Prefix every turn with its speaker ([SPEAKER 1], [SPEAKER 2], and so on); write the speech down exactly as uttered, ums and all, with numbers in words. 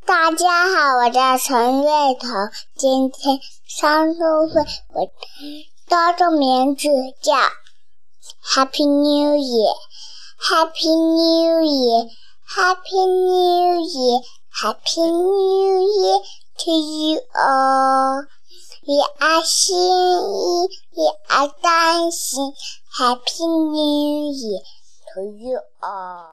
[SPEAKER 1] 大家好，我叫陈瑞彤，今天上周会，我的中名字叫 Happy New Year，Happy New Year，Happy New Year，Happy New Year to you all。We are 心意 ，We are 担心 ，Happy New Year to you all。